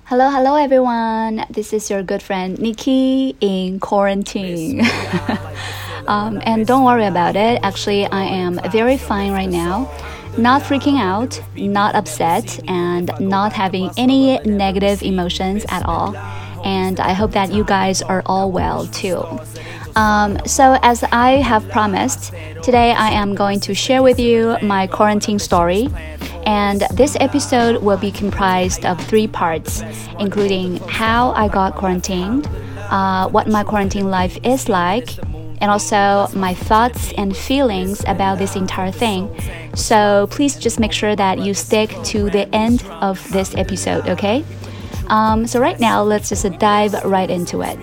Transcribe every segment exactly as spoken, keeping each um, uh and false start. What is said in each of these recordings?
Hello, hello everyone. This is your good friend Nikki in quarantine. um, and don't worry about it. Actually, I am very fine right now. Not freaking out, not upset, and not having any negative emotions at all. And I hope that you guys are all well too. Um, so as I have promised, today I am going to share with you my quarantine story. And this episode will be comprised of three parts, including how I got quarantined, uh, what my quarantine life is like, and also my thoughts and feelings about this entire thing. So please just make sure that you stick to the end of this episode, okay? Um, so right now, let's just dive right into it.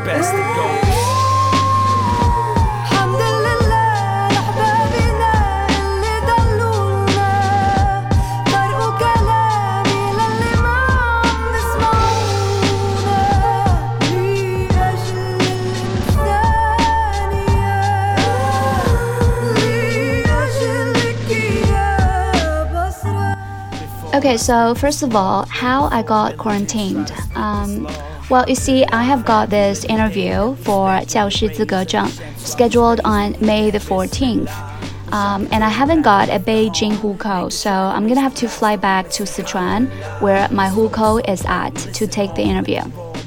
Okay, so first of all, how I got quarantined. Um, well, you see, I have got this interview for 教师资格证 scheduled on May the fourteenth. Um, and I haven't got a Beijing hukou, so I'm gonna have to fly back to Sichuan, where my hukou is at, to take the interview.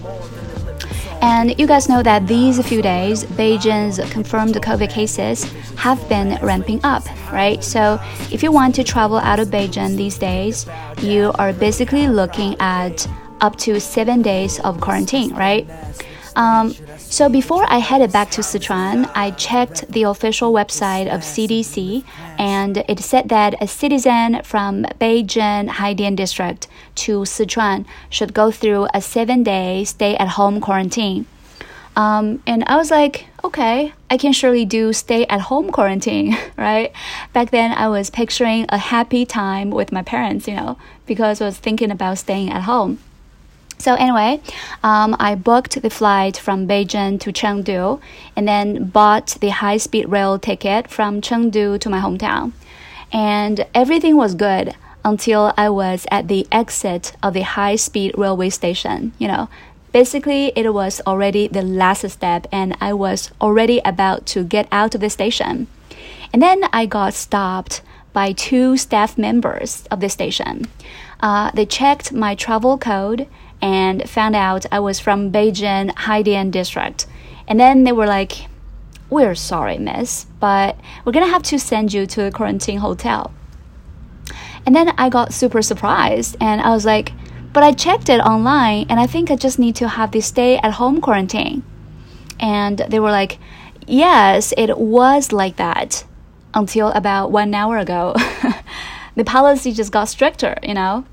And you guys know that these few days, Beijing's confirmed COVID cases have been ramping up, right? So if you want to travel out of Beijing these days, you are basically looking at up to seven days of quarantine, right? Um, so before I headed back to Sichuan, I checked the official website of C D C, and it said that a citizen from Beijing Haidian district to Sichuan should go through a seven-day stay-at-home quarantine. Um, and I was like, okay, I can surely do stay-at-home quarantine, right? Back then, I was picturing a happy time with my parents, you know, because I was thinking about staying at home. So anyway, um, I booked the flight from Beijing to Chengdu and then bought the high-speed rail ticket from Chengdu to my hometown. And everything was good until I was at the exit of the high-speed railway station. You know, basically it was already the last step and I was already about to get out of the station. And then I got stopped by two staff members of the station. Uh, they checked my travel code and found out I was from Beijing Haidian district. And then they were like, we're sorry, miss, but we're gonna have to send you to a quarantine hotel. And then I got super surprised and I was like, but I checked it online and I think I just need to have the stay-at-home quarantine. And they were like, yes, it was like that until about one hour ago. The policy just got stricter, you know?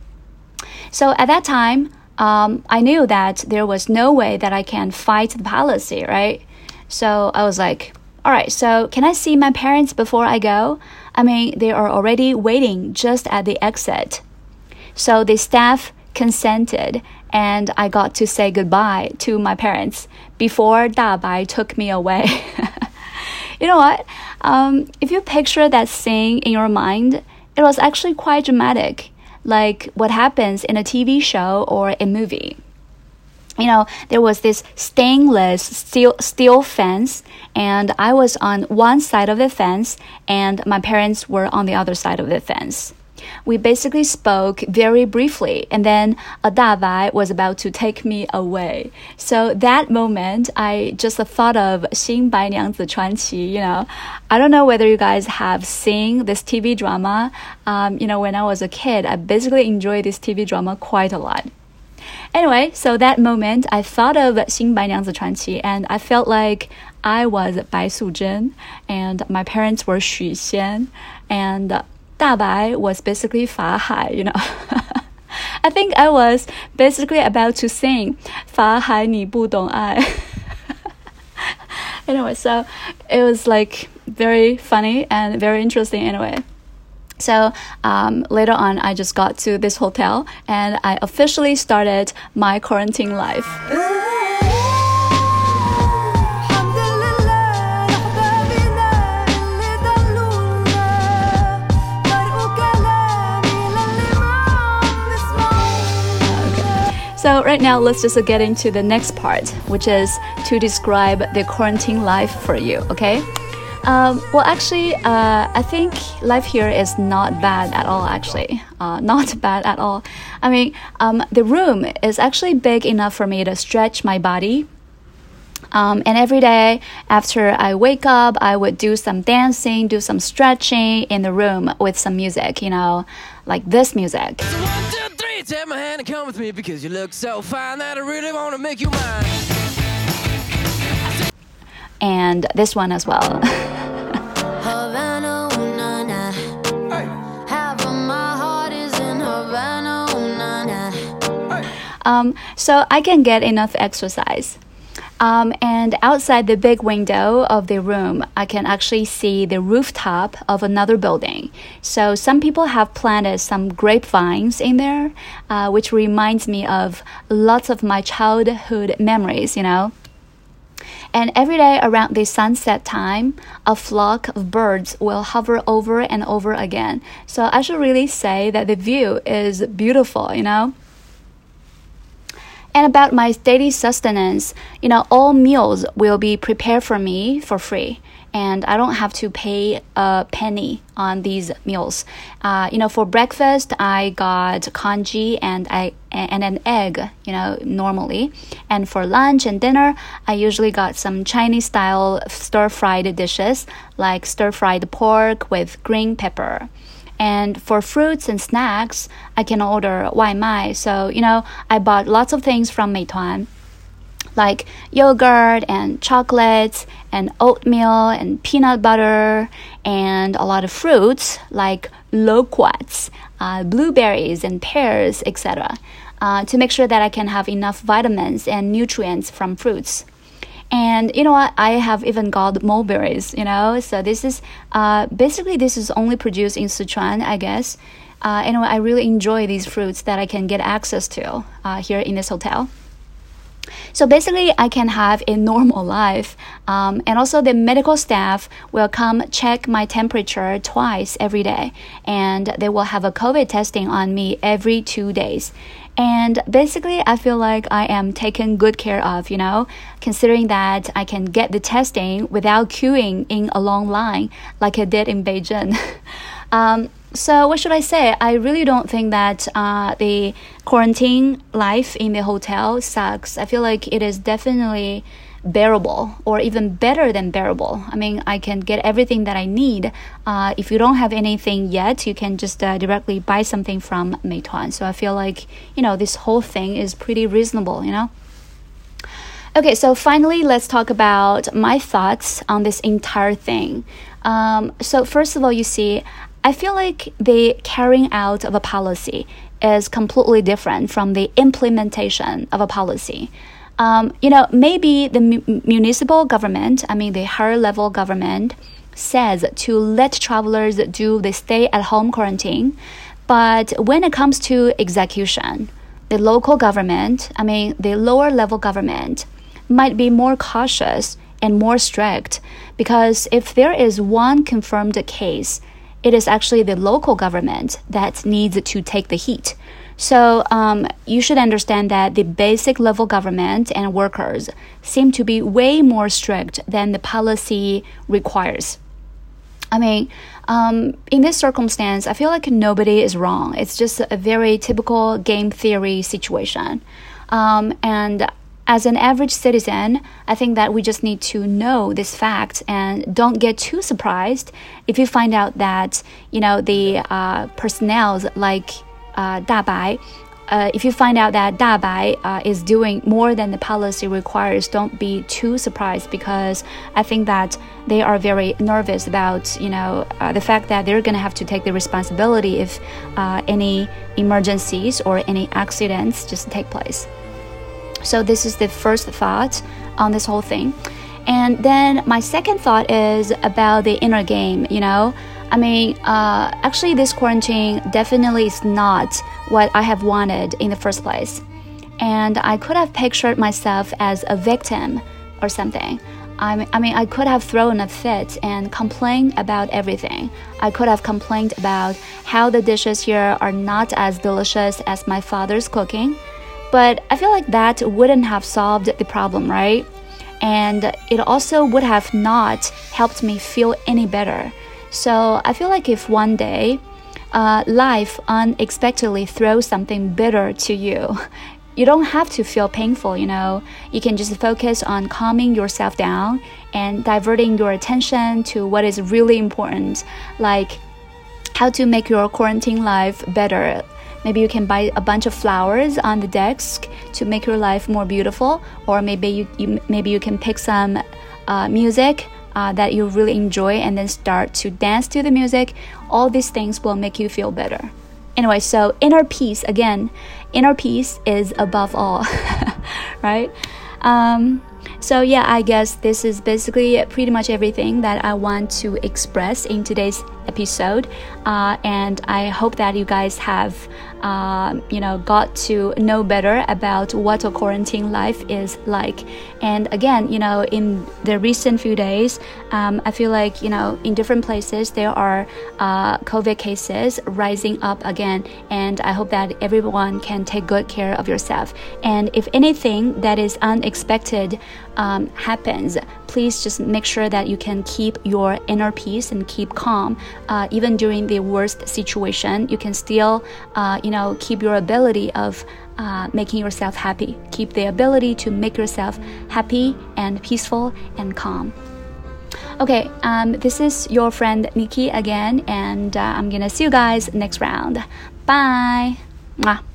So at that time, um, I knew that there was no way that I can fight the policy, right? So I was like, all right, so can I see my parents before I go? I mean, they are already waiting just at the exit. So the staff consented and I got to say goodbye to my parents before Dabai took me away. You know what? Um, if you picture that scene in your mind, it was actually quite dramatic, like what happens in a T V show or a movie. You know, there was this stainless steel, steel fence, and I was on one side of the fence, and my parents were on the other side of the fence. We basically spoke very briefly, and then a Dabai was about to take me away. So that moment, I just thought of 新白娘子传奇, you know. I don't know whether you guys have seen this T V drama. Um, you know, when I was a kid, I basically enjoyed this T V drama quite a lot. Anyway, so that moment, I thought of 新白娘子传奇, and I felt like I was 白素贞, and my parents were Xu Xian, and Dabai was basically Fa Hai, you know. I think I was basically about to sing Fa Hai Ni Bu Dong Ai. Anyway, so it was like very funny and very interesting anyway. So um, later on, I just got to this hotel and I officially started my quarantine life. So right now, let's just get into the next part, which is to describe the quarantine life for you, okay? Um, well, actually, uh, I think life here is not bad at all, actually. Uh, not bad at all. I mean, um, the room is actually big enough for me to stretch my body. Um, and every day after I wake up, I would do some dancing, do some stretching in the room with some music, you know, like this music. So one, two, three, take my hand and come with me because you look so fine that I really want to make you mine. And this one as well. Havana, ooh, na, na. Half of my heart is in Havana, ooh, na, na. Um, so I can get enough exercise. Um, and outside the big window of the room, I can actually see the rooftop of another building. So some people have planted some grapevines in there, uh, which reminds me of lots of my childhood memories, you know. And every day around the sunset time, a flock of birds will hover over and over again. So I should really say that the view is beautiful, you know. And about my daily sustenance, you know, all meals will be prepared for me for free. And I don't have to pay a penny on these meals. Uh, you know, for breakfast, I got congee and I and an egg, you know, normally. And for lunch and dinner, I usually got some Chinese-style stir-fried dishes, like stir-fried pork with green pepper. And for fruits and snacks, I can order 外卖. So, you know, I bought lots of things from Meituan, like yogurt and chocolates and oatmeal and peanut butter and a lot of fruits like loquats, uh, blueberries and pears, et cetera, uh, to make sure that I can have enough vitamins and nutrients from fruits. And you know what? I have even got mulberries, you know. So this is uh, basically this is only produced in Sichuan, I guess. Uh, anyway, I really enjoy these fruits that I can get access to uh, here in this hotel. So basically, I can have a normal life. Um, and also the medical staff will come check my temperature twice every day. And they will have a COVID testing on me every two days. And basically, I feel like I am taken good care of, you know, considering that I can get the testing without queuing in a long line like I did in Beijing. um, so what should I say? I really don't think that uh, the quarantine life in the hotel sucks. I feel like it is definitely bearable or even better than bearable. I mean, I can get everything that I need. Uh, if you don't have anything yet, you can just uh, directly buy something from Meituan. So I feel like, you know, this whole thing is pretty reasonable, you know? Okay, so finally, let's talk about my thoughts on this entire thing. Um, so first of all, you see, I feel like the carrying out of a policy is completely different from the implementation of a policy. Um, you know, maybe the mu- municipal government, I mean the higher level government, says to let travelers do the stay-at-home quarantine. But when it comes to execution, the local government, I mean the lower level government, might be more cautious and more strict, because if there is one confirmed case, it is actually the local government that needs to take the heat. So um, you should understand that the basic level government and workers seem to be way more strict than the policy requires. I mean, um, in this circumstance, I feel like nobody is wrong. It's just a very typical game theory situation. Um, and as an average citizen, I think that we just need to know this fact and don't get too surprised if you find out that, you know, the uh, personnel like uh, Dabai, uh, if you find out that Dabai uh, is doing more than the policy requires, don't be too surprised, because I think that they are very nervous about, you know, uh, the fact that they're going to have to take the responsibility if uh, any emergencies or any accidents just take place. So this is the first thought on this whole thing. And then my second thought is about the inner game, you know. I mean, uh, actually this quarantine definitely is not what I have wanted in the first place. And I could have pictured myself as a victim or something. I mean, I mean, I could have thrown a fit and complained about everything. I could have complained about how the dishes here are not as delicious as my father's cooking. But I feel like that wouldn't have solved the problem, right? And it also would have not helped me feel any better. So I feel like if one day uh, life unexpectedly throws something bitter to you, you don't have to feel painful, you know. You can just focus on calming yourself down and diverting your attention to what is really important, like how to make your quarantine life better. Maybe you can buy a bunch of flowers on the desk to make your life more beautiful, or maybe you, you maybe you can pick some uh, music uh, that you really enjoy and then start to dance to the music. All these things will make you feel better. Anyway, so inner peace, again, inner peace is above all, right? Um, so yeah, I guess this is basically pretty much everything that I want to express in today's episode, uh, and I hope that you guys have uh, you know got to know better about what a quarantine life is like. And again, you know in the recent few days, um, I feel like you know in different places there are uh, COVID cases rising up again, and I hope that everyone can take good care of yourself. And if anything that is unexpected um, happens, please just make sure that you can keep your inner peace and keep calm. Uh, even during the worst situation, you can still, uh, you know, keep your ability of uh, making yourself happy. Keep the ability to make yourself happy and peaceful and calm. Okay, um, this is your friend Nikki again, and uh, I'm gonna see you guys next round. Bye. Mwah.